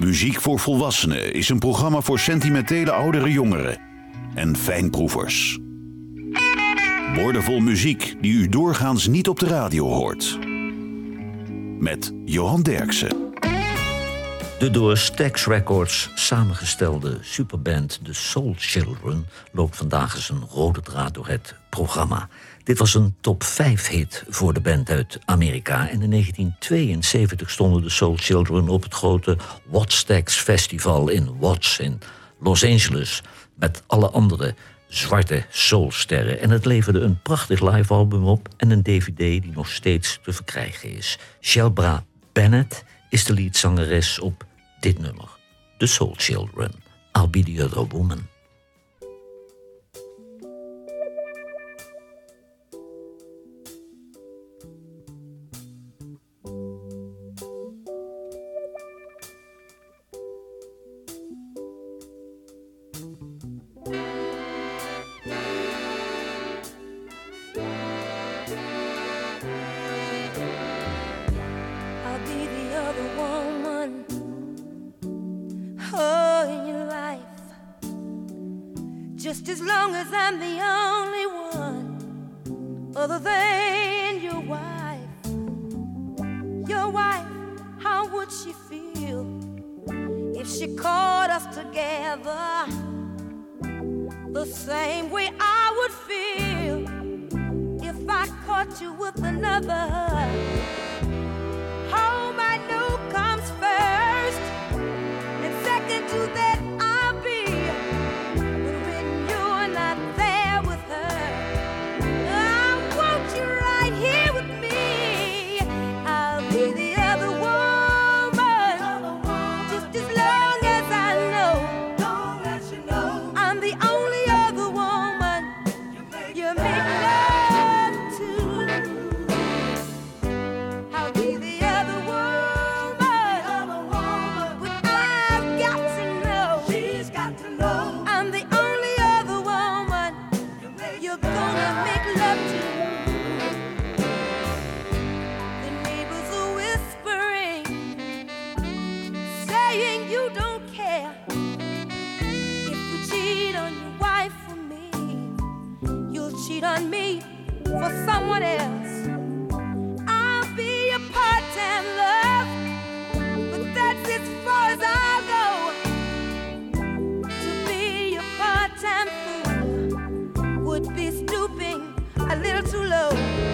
Muziek voor Volwassenen is een programma voor sentimentele oudere jongeren en fijnproevers. Woordenvol muziek die u doorgaans niet op de radio hoort. Met Johan Derksen. De door Stax Records samengestelde superband The Soul Children loopt vandaag eens een rode draad door het programma. Dit was een top 5 hit voor de band uit Amerika. En in 1972 stonden de Soul Children op het grote Wattstax Festival in Watts in Los Angeles met alle andere zwarte soulsterren. En het leverde een prachtig live-album op en een DVD die nog steeds te verkrijgen is. Shelbra Bennett is de leadzangeres op dit nummer. The Soul Children, I'll Be the Other Woman. Just as long as I'm the only one other than your wife. Your wife, how would she feel if she caught us together the same way I would feel if I caught you with another? Home I know comes first, and second to that I'll be. On me for someone else. I'll be a part-time love, but that's as far as I'll go. To be a part-time fool would be stooping a little too low.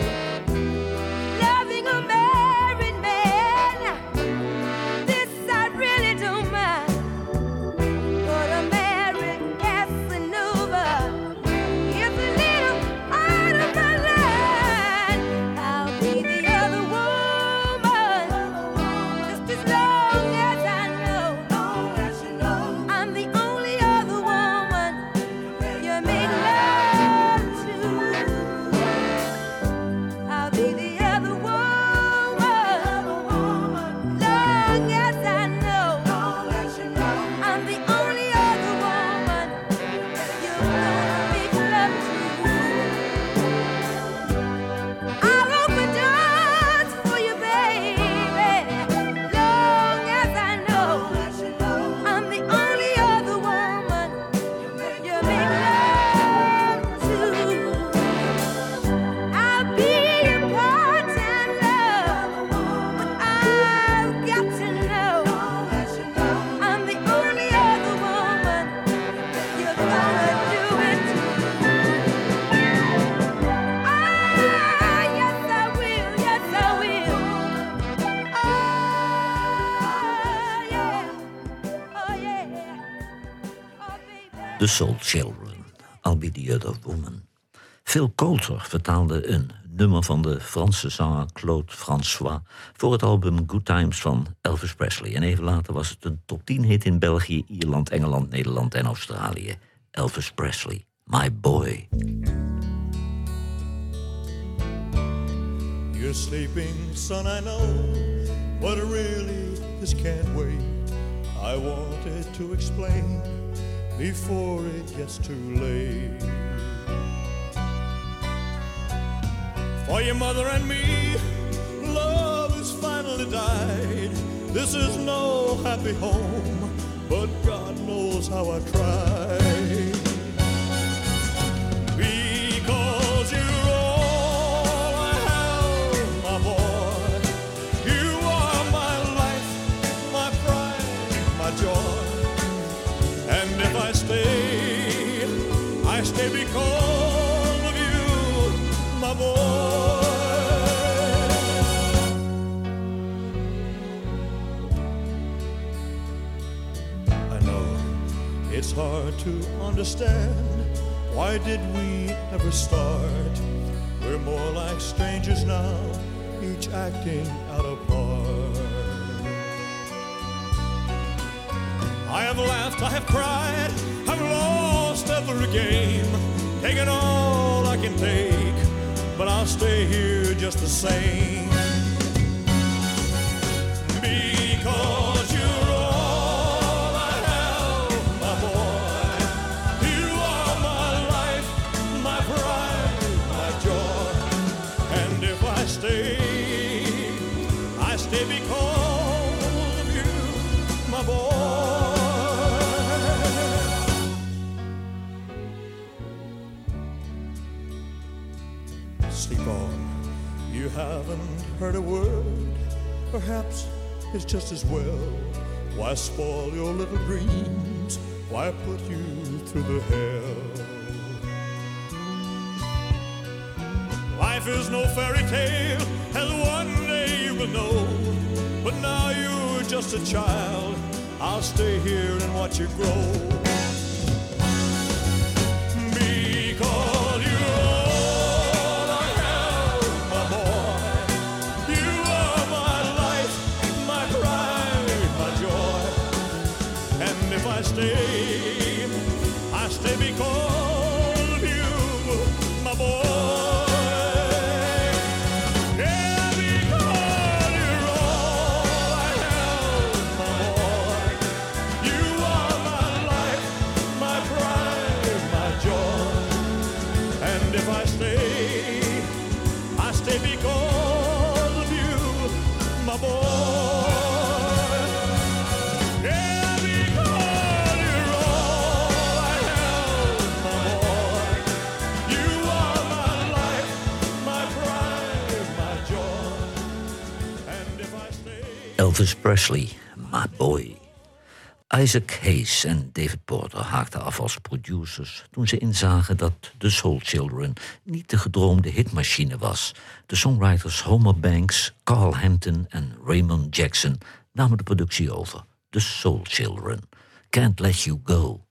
Loving a married man, this I really don't mind. But a married Casanova is a little out of my line. I'll be the other woman, just as long as I know. I'm the only other woman you make love to. I'll be the other woman, long as I know. I'm the only other woman you're gonna make love to. I'll open doors for you, baby, long as I know. I'm the only other woman you make love to. I'll be your part-time love, but I've got to know I'm the only other woman you're gonna do it to. Ah, yes I will, yes I will. Oh yeah, oh yeah, oh baby. The Soul Children, I'll Be the Other Woman. Phil Coulter vertaalde een nummer van de Franse zanger Claude François voor het album Good Times van Elvis Presley. En even later was het een top 10 hit in België, Ierland, Engeland, Nederland en Australië. Elvis Presley, My Boy. You're sleeping, son, I know, but really this can't wait. I wanted to explain before it gets too late. For your mother and me, love has finally died. This is no happy home, but God knows how I tried. Because you're all I have, my boy. You are my life, my pride, my joy. And if I stay because of you, my boy. I know it's hard to understand. Why did we ever start? We're more like strangers now, each acting out a part. I have laughed, I have cried, I've lost every game, taken all I can take, but I'll stay here just the same. Because you're all I have, my boy. You are my life, my pride, my joy. And if I stay because of you, my boy. Sleep on, you haven't heard a word. Perhaps it's just as well. Why spoil your little dreams? Why put you through the hell? Life is no fairy tale, as one day you will know. But now you're just a child. I'll stay here and watch you grow. Because you're all I have, my boy. You are my life, my pride, my joy. And if I stay because of you, my boy. Yeah, because you're all I have, my boy. You are my life, my pride, my joy. And if I stay because of you, my boy. Yeah, because you're all I have, my boy. You are my life, my pride, my joy. And if I stay... Elvis Presley, my boy. Isaac Hayes en David Porter haakten af als producers toen ze inzagen dat The Soul Children niet de gedroomde hitmachine was. De songwriters Homer Banks, Carl Hampton en Raymond Jackson namen de productie over. The Soul Children. Can't Let You Go.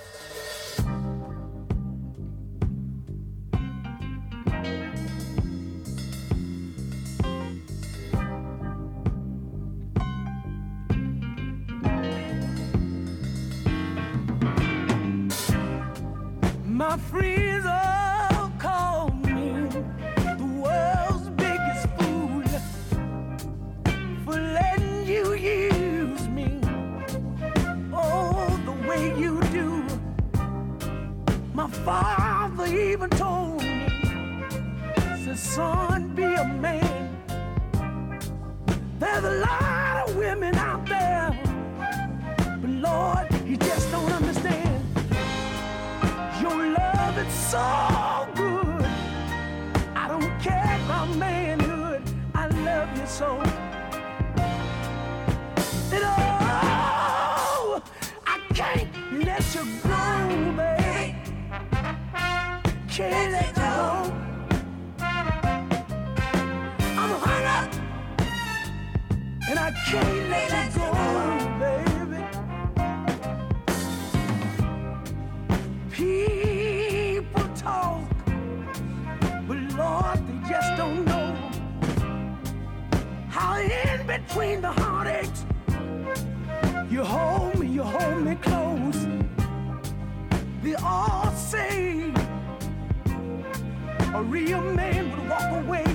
My friends all call me the world's biggest fool for letting you use me, oh, the way you do. My father even told me, said, son, be a man. There's a lot of women out there, but Lord, you just don't understand. Your love is so good. I don't care about manhood. I love you so. And oh, I can't let you go, baby. Can't let you go. I'm hung up, and I can't let you go, baby. People talk, but Lord, they just don't know how in between the heartaches you hold me close. They all say a real man would walk away,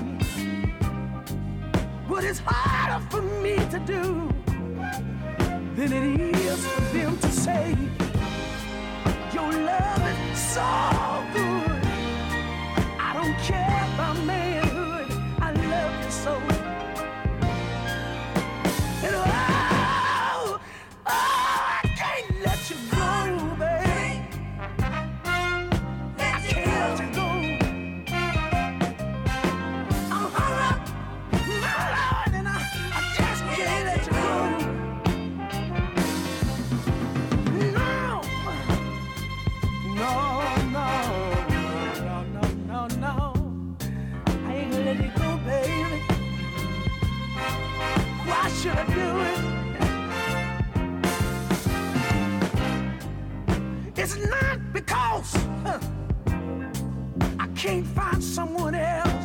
but it's harder for me to do than it is for them to say. Your love is so good. I don't care about manhood. I love you so. And should I do it? It's not because I can't find someone else,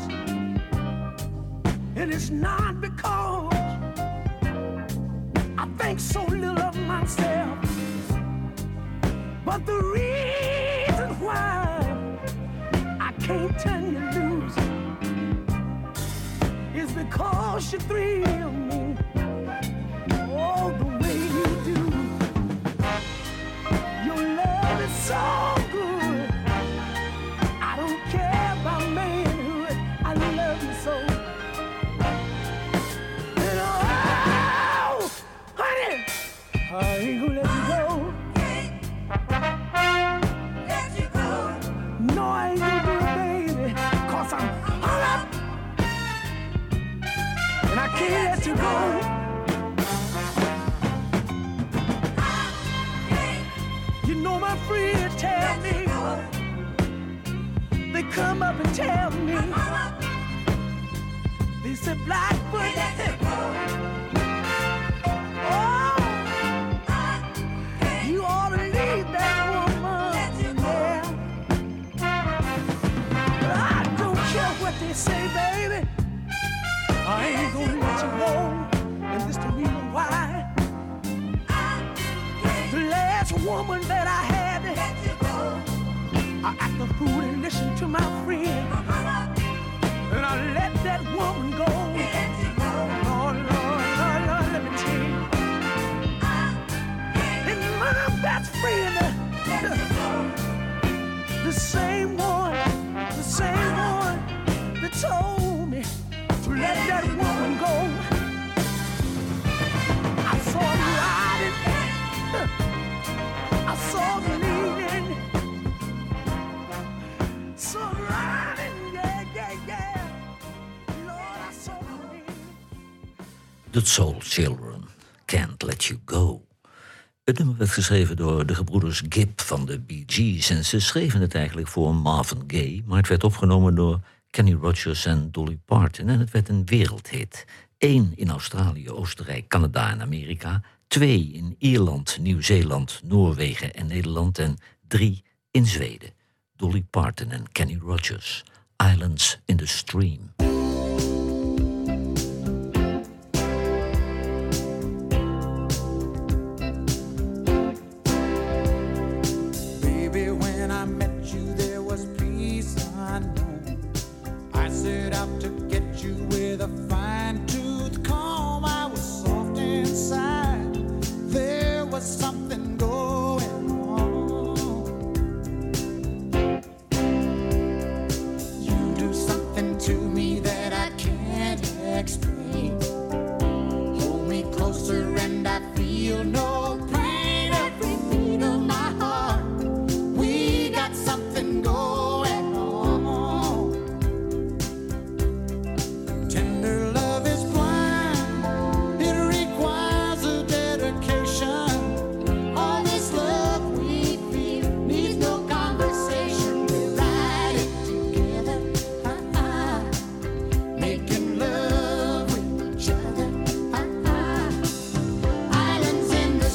and it's not because I think so little of myself, but the reason why I can't turn you loose is because you thrill me, oh, the way you do. Your love is so good. I don't care about manhood. I love you so. And oh, honey, I ain't gonna let you go. Let you go. No, I ain't gonna do it, baby, 'cause I'm hung up. And I can't let you go. You know my friends tell me, they come up and tell me, they said, Blackfoot, oh, you ought to leave that woman, yeah. But I don't care what they say, baby, I ain't gonna let you go, and this the reason why. The last woman that I had, I act the fool and listen to my friend, and I let that woman go. Lord, Lord, Lord, Lord, let me tell you. And my best friend, the same one that told me to let that woman go. I saw him riding, I saw him leaning, saw him riding, yeah, yeah, yeah. Lord, I saw him leaning. The Soul Children, Can't Let You Go. Het nummer werd geschreven door de gebroeders Gibb van de Bee Gees. En ze schreven het eigenlijk voor Marvin Gaye, maar het werd opgenomen door Kenny Rogers en Dolly Parton. En het werd een wereldhit. 1 in Australië, Oostenrijk, Canada en Amerika. 2 in Ierland, Nieuw-Zeeland, Noorwegen en Nederland. En 3 in Zweden. Dolly Parton en Kenny Rogers. Islands in the Stream. Baby, when I met you, there was peace unknown. I set out to get you with a fine-tooth comb. I was soft inside. There was something going on. You do something to me that I can't explain. Hold me closer and I feel no pain. Every beat of my heart, we got something going on. Tender love is blind, it requires a dedication. All this love we feel needs no conversation. We ride it together, making love with each other. Islands in the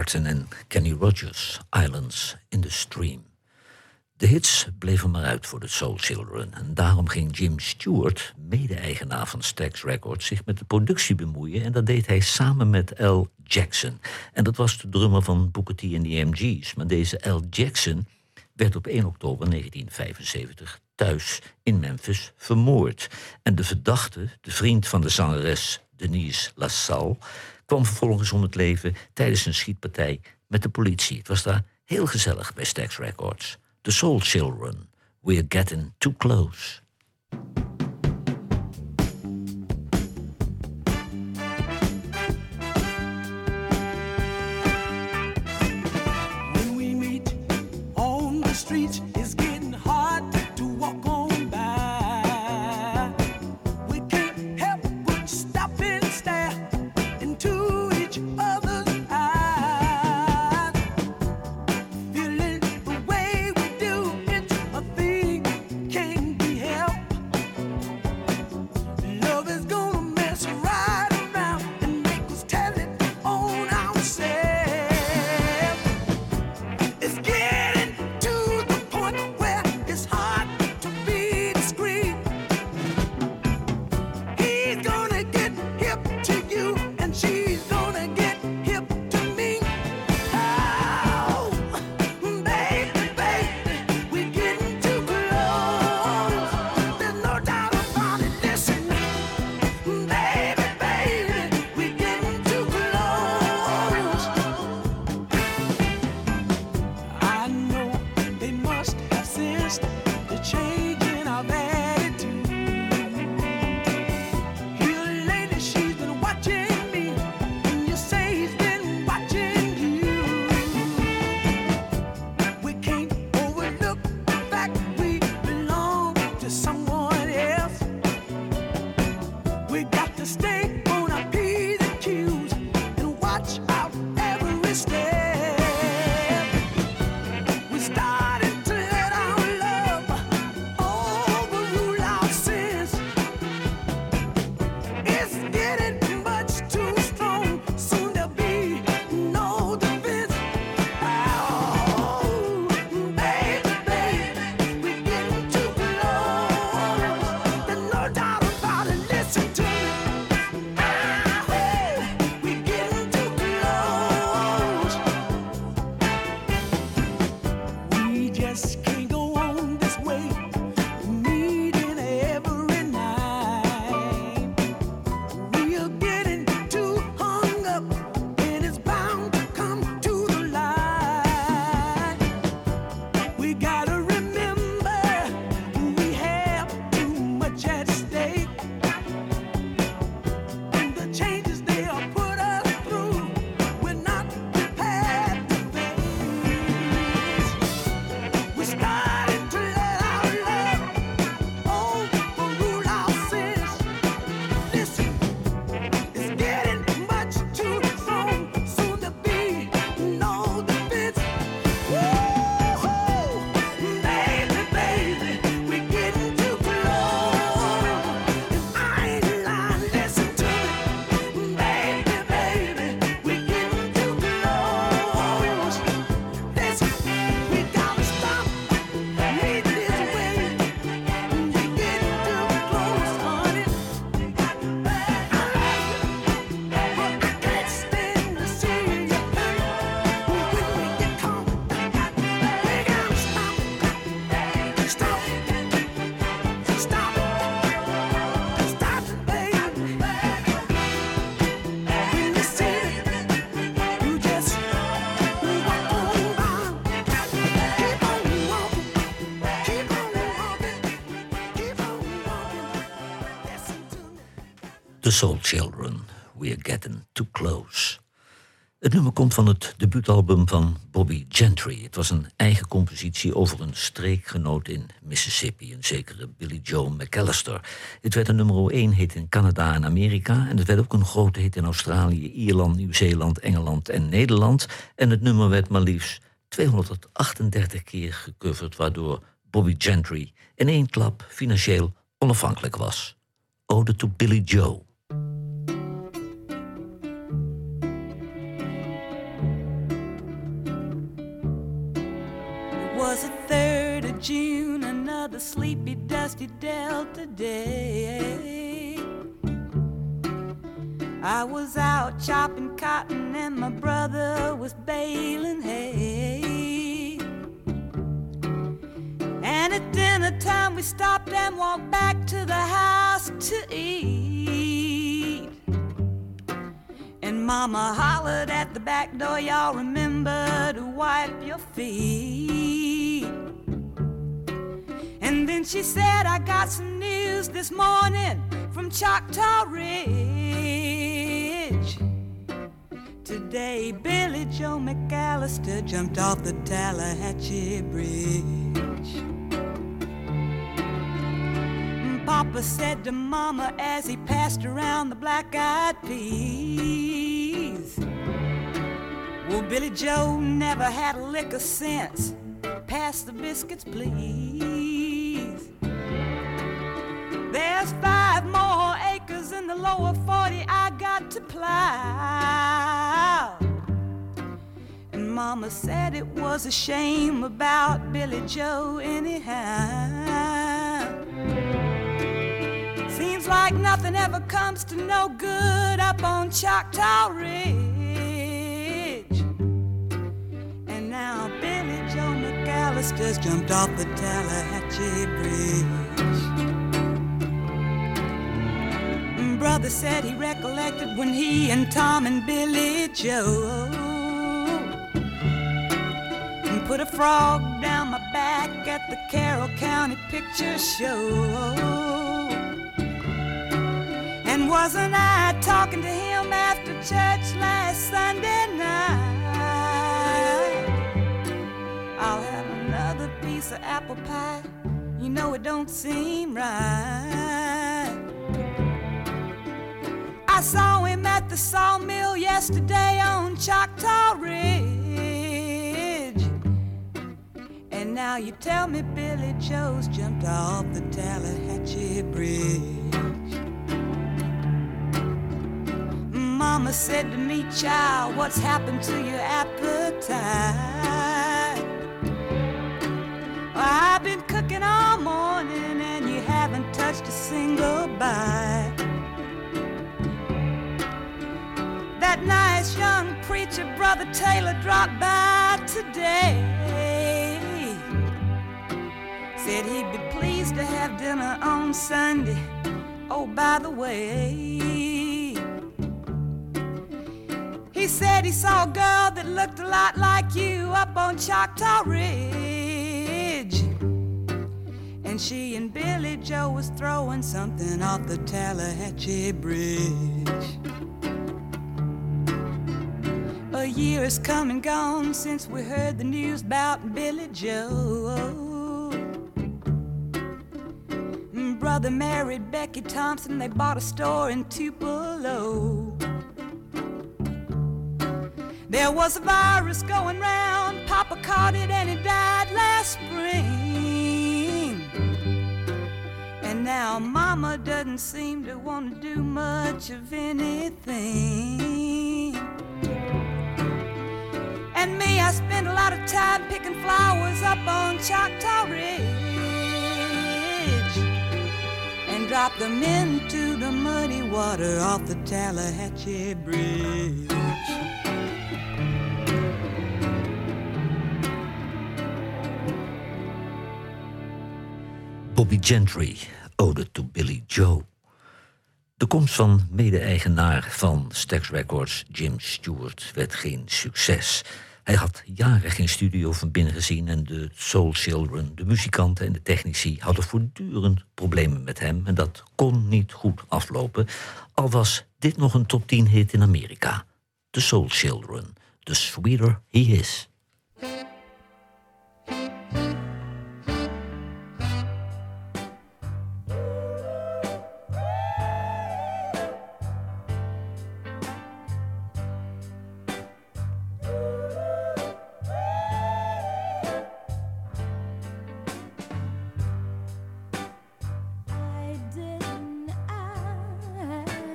Martin en Kenny Rogers, Islands in the Stream. De hits bleven maar uit voor de Soul Children. En daarom ging Jim Stewart, mede-eigenaar van Stax Records, zich met de productie bemoeien. En dat deed hij samen met Al Jackson. En dat was de drummer van Booker T en de MG's. Maar deze Al Jackson werd op 1 oktober 1975 thuis in Memphis vermoord. En de verdachte, de vriend van de zangeres Denise LaSalle, kwam vervolgens om het leven tijdens een schietpartij met de politie. Het was daar heel gezellig bij Stax Records. The Soul Children, We're Getting Too Close. When we meet on the streets, it's getting hard to walk on by. We can't help but stop and stare into each other's eyes. Feeling the way we do, it's a thing can't be helped. Love is gonna mess right around and make us tell it on ourselves. It's getting to the point where it's hard to be discreet. He's gonna get hip to you, and she's gonna get hip to me. Oh, baby, baby, we're getting too close. There's no doubt about it. Listen, baby, baby, we're getting too close. I know they must have sensed the change in our attitude. Here lately she's been watching me, and you say he's been watching you. We can't overlook the fact we belong to someone else. We got to stay on our P's and Q's and watch out every step. We started to let our love overrule our sins. It's getting much too strong. Soon there'll be no defense. Oh, baby, baby, we're getting too close. There's no doubt about it. Listen to me. We're getting too close. We just can't go on this way, meeting every night. We are getting too hung up, and it's bound to come to the light. We gotta remember we have too much at stake, and the changes they are put us through, we're not prepared to face. We started to let our love overrule our sins. Listen, it's getting much too strong. Soon there'll be no defense. Woo-hoo! Baby, baby, we're getting too close. And I ain't lying, listen to me. Baby, baby, we're getting too close. Listen, we gotta stop meeting this way. We're getting too close, honey. I love you, but I can't stand to see you hurt. When we get caught, we gotta stop it, stop it, stop it, stop it, baby. When you see it, you just walk on by. Keep on walking, keep on walking, keep on walking. Listen to me. The Soul Children, We're Getting Too Close. Het nummer komt van het debuutalbum van Bobby Gentry. Het was een eigen compositie over een streekgenoot in Mississippi, een zekere Billy Joe McAllister. Het werd een nummer 1 hit in Canada en Amerika, en het werd ook een grote hit in Australië, Ierland, Nieuw-Zeeland, Engeland en Nederland. En het nummer werd maar liefst 238 keer gecoverd, waardoor Bobby Gentry in één klap financieel onafhankelijk was. Ode to Billy Joe. was the 3rd of June, another sleepy, dusty Delta day. I was out chopping cotton and my brother was baling hay. And at dinner time we stopped and walked back to the house to eat. And Mama hollered at the back door, y'all remember to wipe your feet. And then she said, I got some news this morning from Choctaw Ridge. Today Billy Joe McAllister jumped off the Tallahatchie Bridge. Papa said to Mama as he passed around the black-eyed peas, well, Billy Joe never had a lick of sense. Pass the biscuits, please. There's 5 more acres in the lower 40 I got to plow. And Mama said it was a shame about Billy Joe anyhow. Seems like nothing ever comes to no good up on Choctaw Ridge. And now Billy Joe McAllister's jumped off the Tallahatchie Bridge. Brother said he recollected when he and Tom and Billy Joe put a frog down my back at the Carroll County Picture Show. And wasn't I talking to him after church last Sunday night? I'll have another piece of apple pie. You know it don't seem right. I saw him at the sawmill yesterday on Choctaw Ridge. And now you tell me Billy Joe's jumped off the Tallahatchie Bridge. Mama said to me, child, what's happened to your appetite? Well, I've been cooking all morning and you haven't touched a single bite. That nice young preacher, Brother Taylor, dropped by today. Said he'd be pleased to have dinner on Sunday. Oh, by the way, he said he saw a girl that looked a lot like you up on Choctaw Ridge. And she and Billy Joe was throwing something off the Tallahatchie Bridge. A year has come and gone since we heard the news about Billy Joe. Brother married Becky Thompson, they bought a store in Tupelo. There was a virus going round, Papa caught it and he died last spring. And now Mama doesn't seem to want to do much of anything. And me, I spend a lot of time picking flowers up on Choctaw Ridge and drop them into the muddy water off the Tallahatchie Bridge. Bobby Gentry, Ode to Billy Joe. De komst van mede-eigenaar van Stax Records, Jim Stewart, werd geen succes. Hij had jaren geen studio van binnen gezien en de Soul Children, de muzikanten en de technici hadden voortdurend problemen met hem en dat kon niet goed aflopen, al was dit nog een top 10 hit in Amerika. The Soul Children, The Sweeter He Is.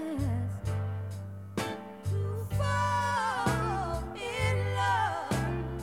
Fall in love.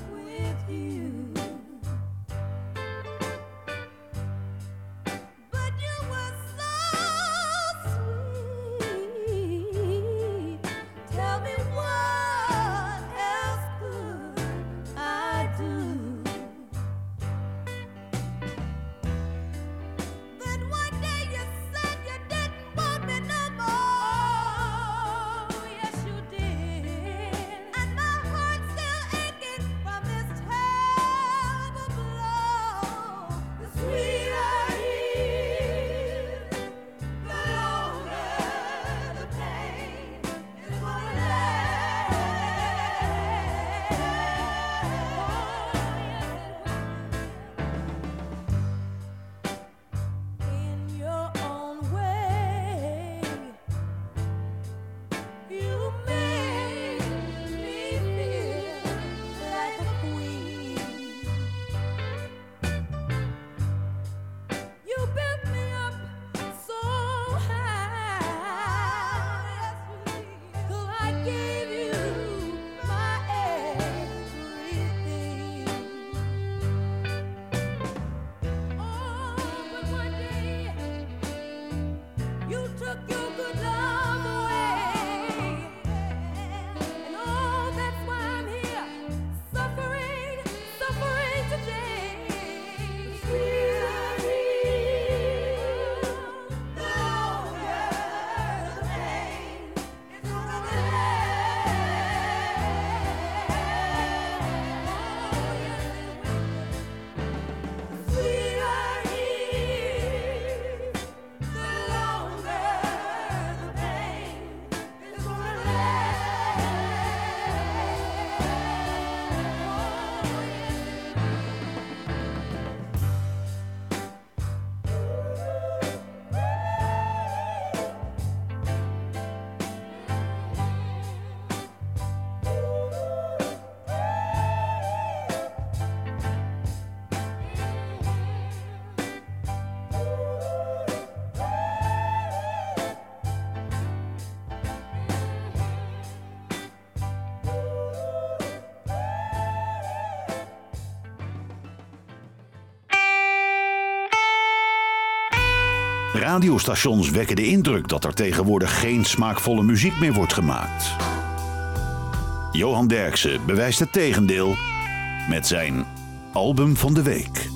radiostations wekken de indruk dat er tegenwoordig geen smaakvolle muziek meer wordt gemaakt. Johan Derksen bewijst het tegendeel met zijn album van de week.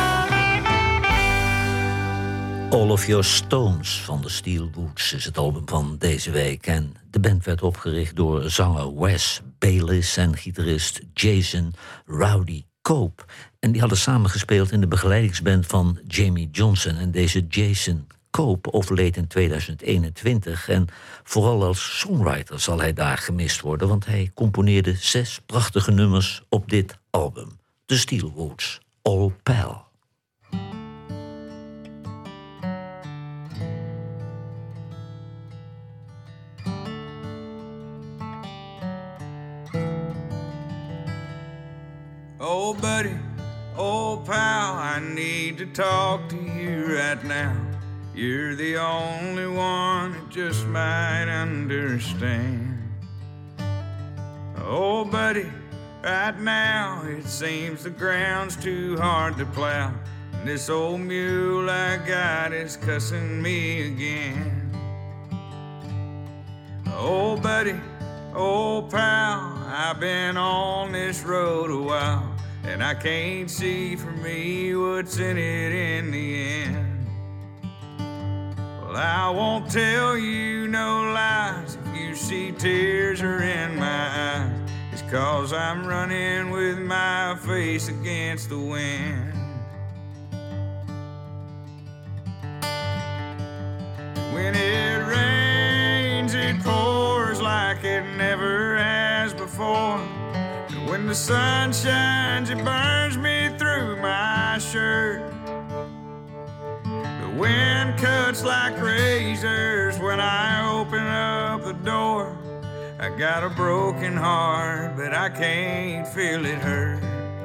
All of Your Stones van de Steel Woods is het album van deze week. En de band werd opgericht door zanger Wes Bayliss en gitarist Jason Rowdy Cope. En die hadden samengespeeld in de begeleidingsband van Jamie Johnson. En deze Jason Cope overleed in 2021. En vooral als songwriter zal hij daar gemist worden, want hij componeerde 6 prachtige nummers op dit album. De Steel Woods, All Pal. Oh, buddy, oh, pal, I need to talk to you right now. You're the only one that just might understand. Oh, buddy, right now it seems the ground's too hard to plow. And this old mule I got is cussing me again. Oh, buddy, oh, pal, I've been on this road a while, and I can't see for me what's in it in the end. Well, I won't tell you no lies. If you see tears are in my eyes, it's 'cause I'm running with my face against the wind. When it rains, it pours like it never has before. And when the sun shines, it burns me through my shirt. The wind cuts like razors when I open up the door. I got a broken heart, but I can't feel it hurt.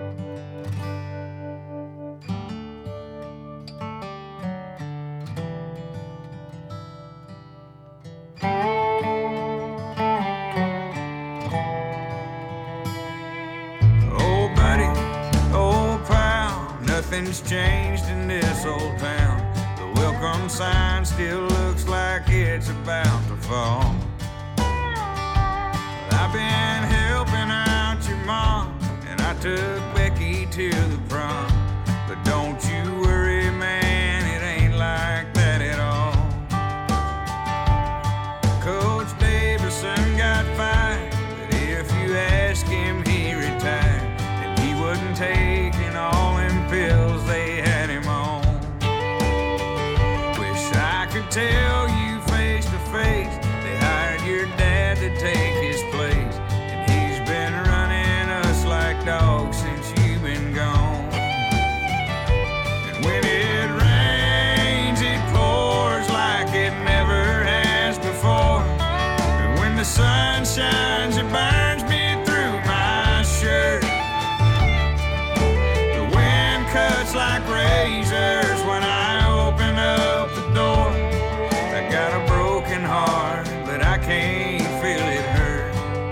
Nothing's changed in this old town. The welcome sign still looks like it's about to fall. I've been helping out your mom, and I took Becky to the prom. But don't you worry, man, it ain't like that at all. Coach Davison got fired, but if you ask him, he retired. And he wasn't taking all them pills they had him on. Wish I could tell you face to face, they hired your dad to take his place. And he's been running us like dogs since you've been gone. And when it rains, it pours like it never has before. And when the sun shines, it burns me through my shirt. The wind cuts like razors when I open up the door. I got a broken heart, but I can't feel it hurt.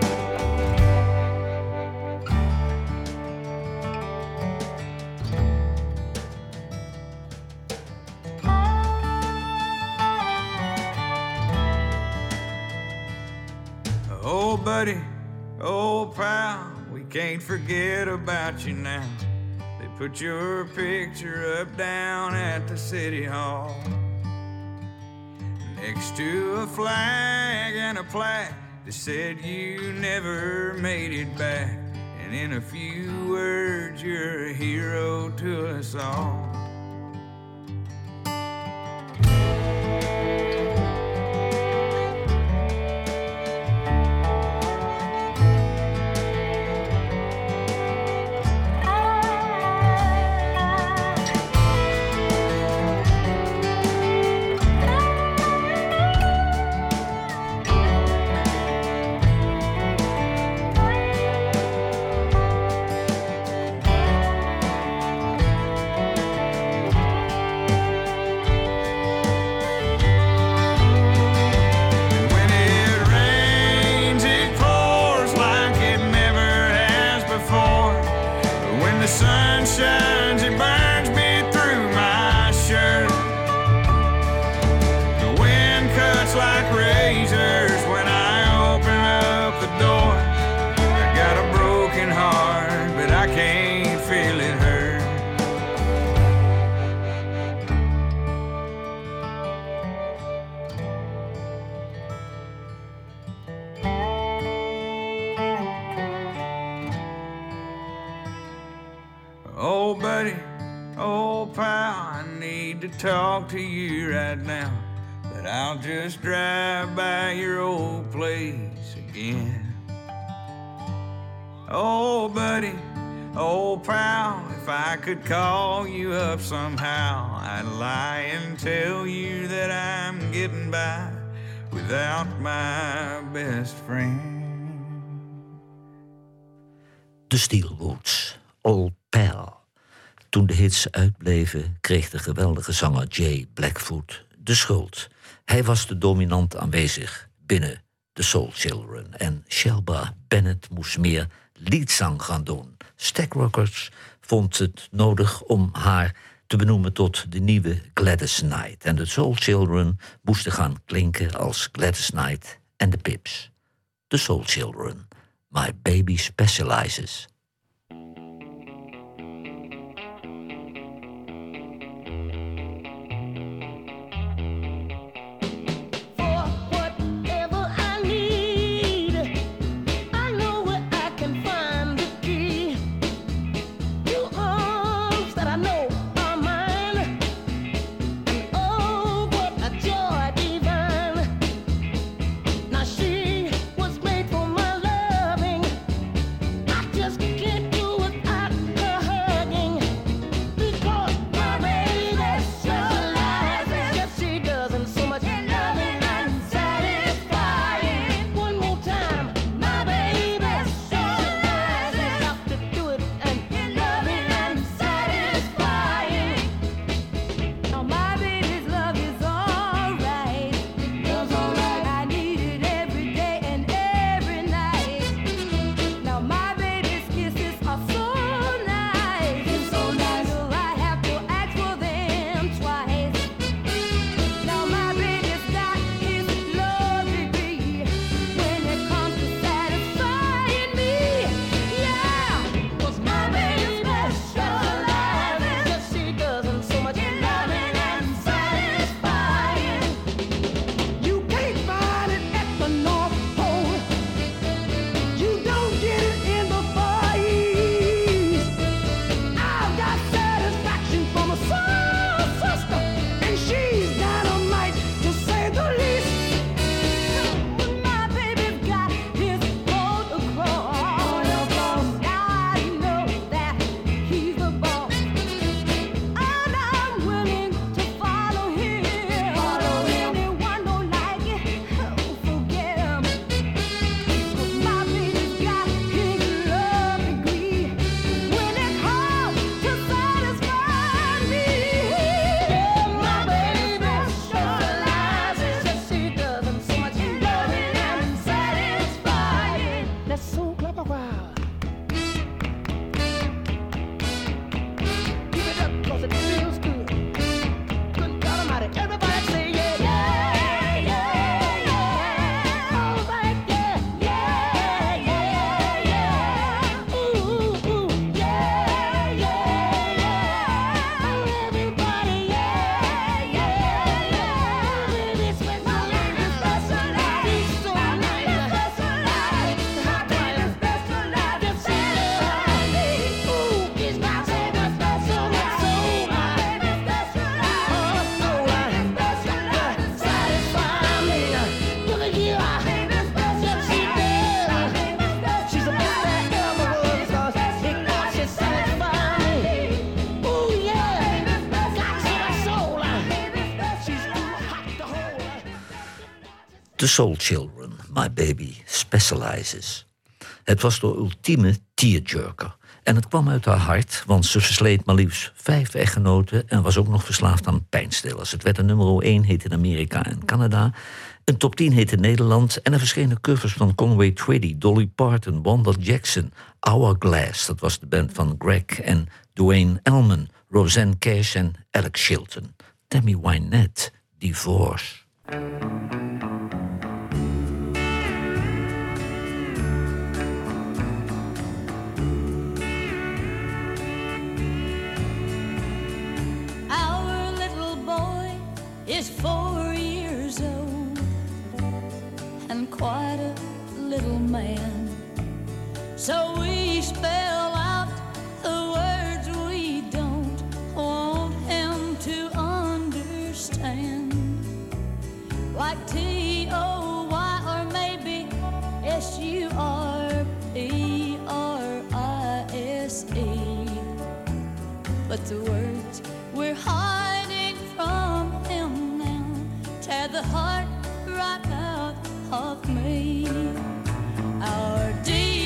Oh, buddy, oh, pal, we can't forget about you now. They put your picture up down at the city hall, next to a flag and a plaque that said you never made it back. And in a few words, you're a hero to us all. can't feel it hurt. Oh, buddy, oh, pal, I need to talk to you right now. But I'll just drive by your old place again. Oh, buddy, oh, pal, if I could call you up somehow, I'd lie and tell you that I'm getting by without my best friend. De Steelwoods, Old Pal. Toen de hits uitbleven, kreeg de geweldige zanger Jay Blackfoot de schuld. Hij was de dominant aanwezig binnen de Soul Children. En Shelba Bennett moest meer liedzang gaan doen. Stax Records vond het nodig om haar te benoemen tot de nieuwe Gladys Knight. En de Soul Children moesten gaan klinken als Gladys Knight en de Pips. De Soul Children, My Baby Specializes. The Soul Children, My Baby Specializes. Het was de ultieme tearjerker. En het kwam uit haar hart, want ze versleed maar liefst 5 echtgenoten en was ook nog verslaafd aan pijnstillers. Het werd een nummer 1 hit in Amerika en Canada. Een top 10 hit in Nederland. En er verschenen covers van Conway Twitty, Dolly Parton, Wanda Jackson, Hourglass. Dat was de band van Greg en Duane Allman, Rosanne Cash en Alex Chilton. Tammy Wynette, Divorce. see. But the words we're hiding from him now tear the heart right out of me. Our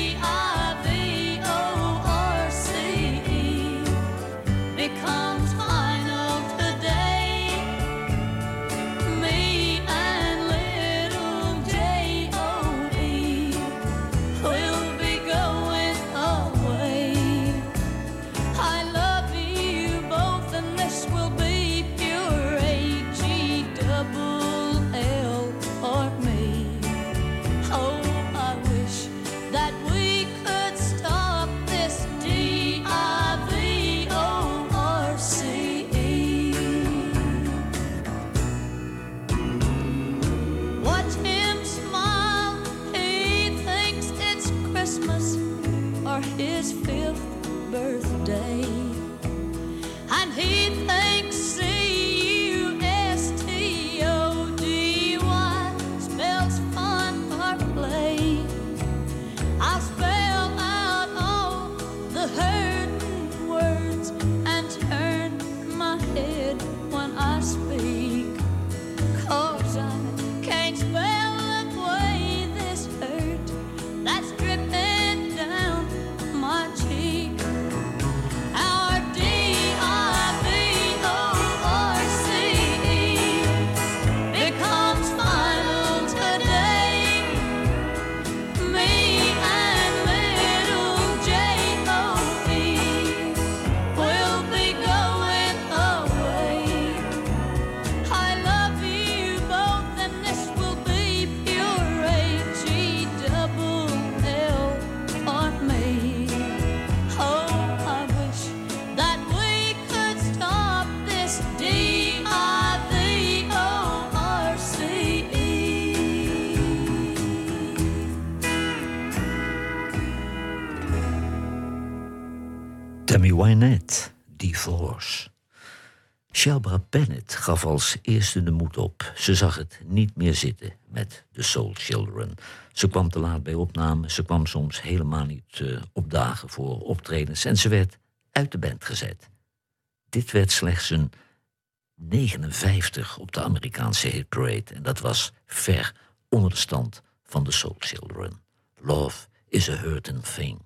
D-I-V-O-R-C-E becomes final today. Me and little J-O-E will be going away. I love you both and this will be pure H-E-double-L for me. Oh, I wish that we could stop this D-I-V-O-R-C-E. Watch him smile, he thinks it's Christmas or his 5th birthday. And he thinks C-U-S-T-O-D-Y spells fun or play. I'll spell out all the hurting words and turn my head when I speak. 'Cause I can't spell away this hurt that's dripping down my cheek. Our D-I-V-O-R-C-E becomes final today. Me and little J-O-E will be going away. I love you both and this will be pure H-E-double-L for me. Oh, I wish that we could stop this D-I-V-O-R-C-E. Tammy Wynette, Divorce. Shelba Bennett gaf als eerste de moed op. Ze zag het niet meer zitten met de Soul Children. Ze kwam te laat bij opnames, ze kwam soms helemaal niet opdagen voor optredens en ze werd uit de band gezet. Dit werd slechts een 59 op de Amerikaanse hitparade en dat was ver onder de stand van de Soul Children. Love is a hurting thing.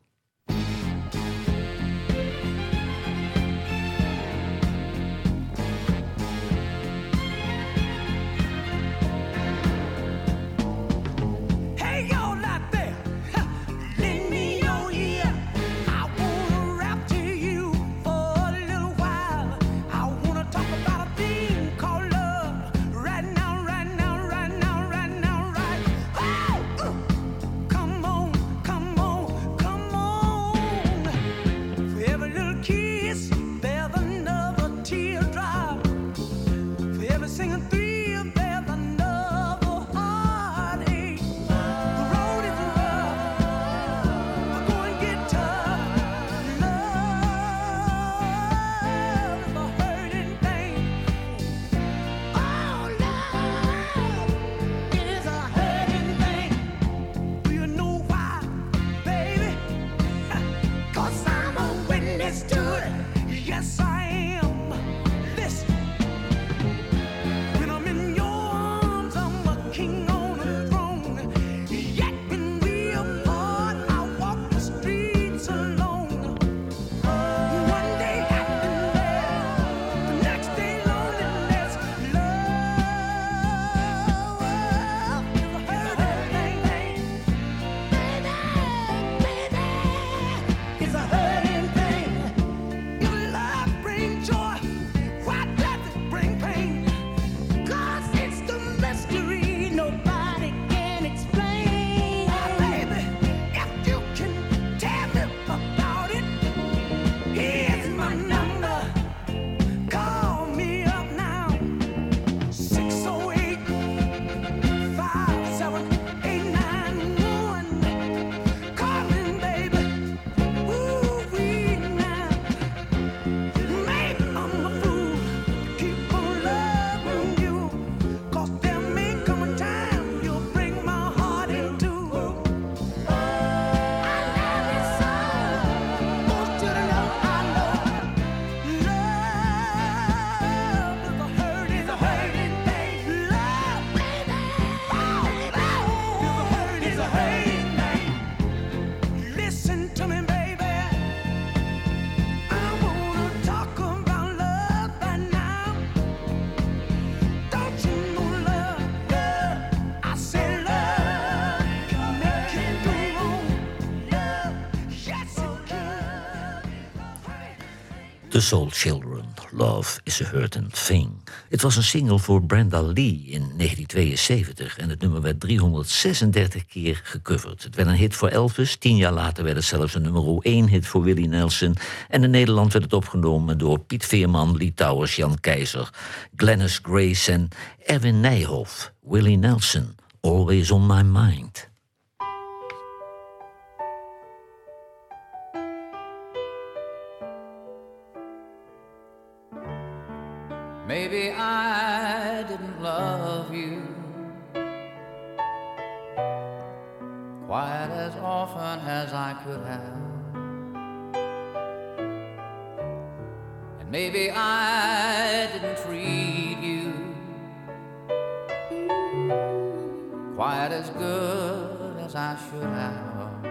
Hey, y'all out there, lend me your ear. I wanna rap to you for a little while. I wanna talk about a thing called love. Right now, right now, right now, right now, right. Oh, come on, come on, come on. The Soul Children, Love is a Hurtin' Thing. Het was een single voor Brenda Lee in 1972 en het nummer werd 336 keer gecoverd. Het werd een hit voor Elvis, 10 jaar later werd het zelfs een nummer 1 hit voor Willie Nelson en in Nederland werd het opgenomen door Piet Veerman, Lee Towers, Jan Keizer, Glennis Grace en Erwin Nijhoff. Willie Nelson, Always on My Mind. Maybe I didn't love you quite as often as I could have. And maybe I didn't treat you quite as good as I should have.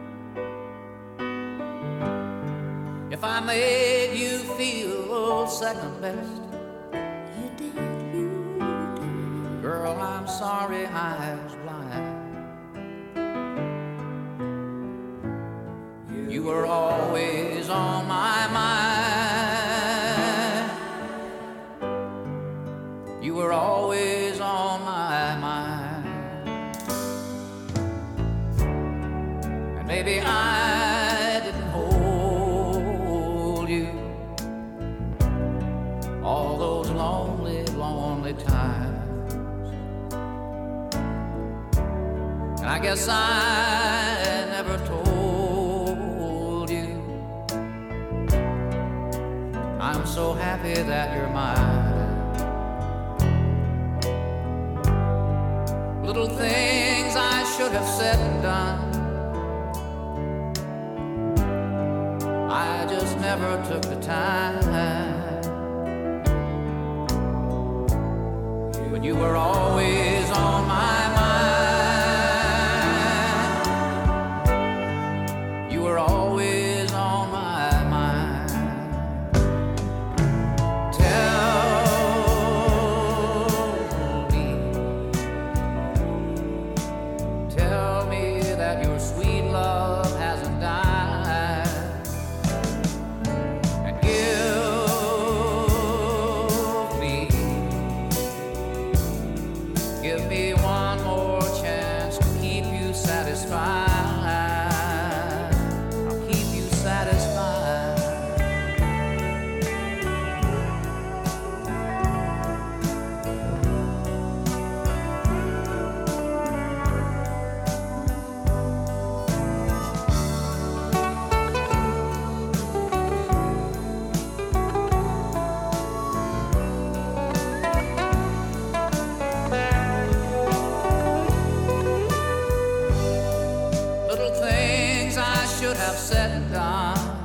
If I made you feel second best, girl, I'm sorry I was blind. You were always on my mind. You were always on my mind. And maybe I didn't hold you all those lonely, lonely times. I guess I never told you I'm so happy that you're mine. Little things I should have said and done, I just never took the time. But you were always on my mind. Always on my mind. Tell me that your sweet love hasn't died, and give me one more chance to keep you satisfied. Said and done,